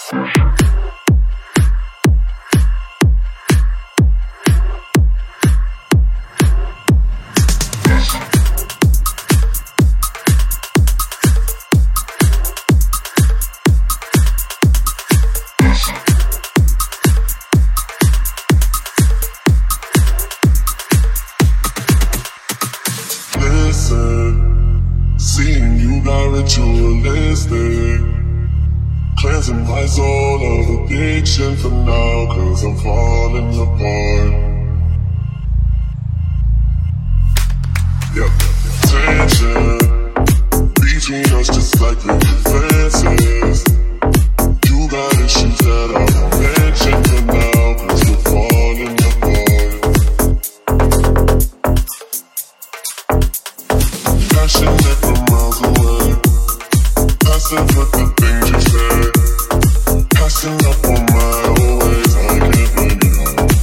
Seeing you got ritualistic, cleansing my soul of addiction for now, 'cause I'm falling apart. Yep. Tension between us just like the defenses. You got issues that I won't mention for now, 'cause we're falling apart. Passionate from miles away, passive with the things you say, passing up on my old ways. I can't blame you.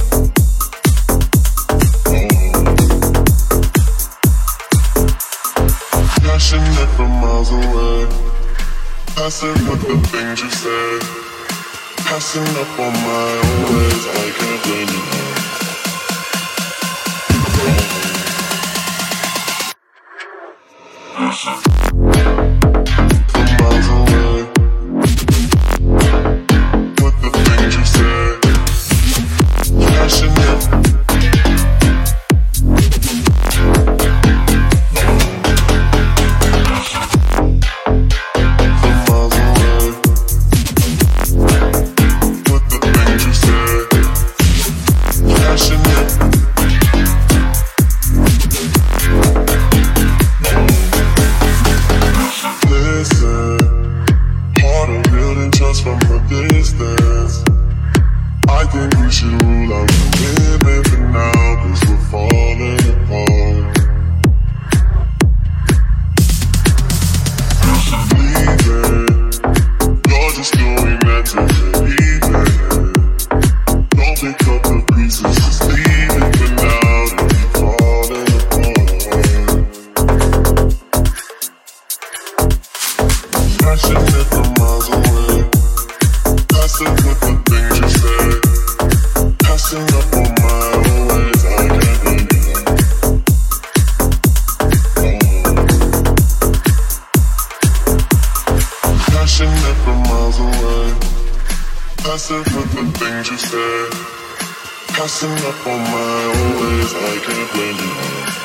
Passionate from miles away, passive with the things you say, passing up on my old ways. I can't blame you. Miles away, with the things you say, passionate. Miles away, with the things you say, passionate. Listen, harder building trust from a distance. I think we should rule out the women for now, 'cause we're falling apart. Leaving, you're just doing that to get even. Don't pick up the pieces, just leave it for now, that we're falling apart. Passionate from miles away, passive with the things you say, passing up on my old ways. I can't blame you. Passionate from miles away, passive with the things you say, passing up on my old ways. I can't blame you.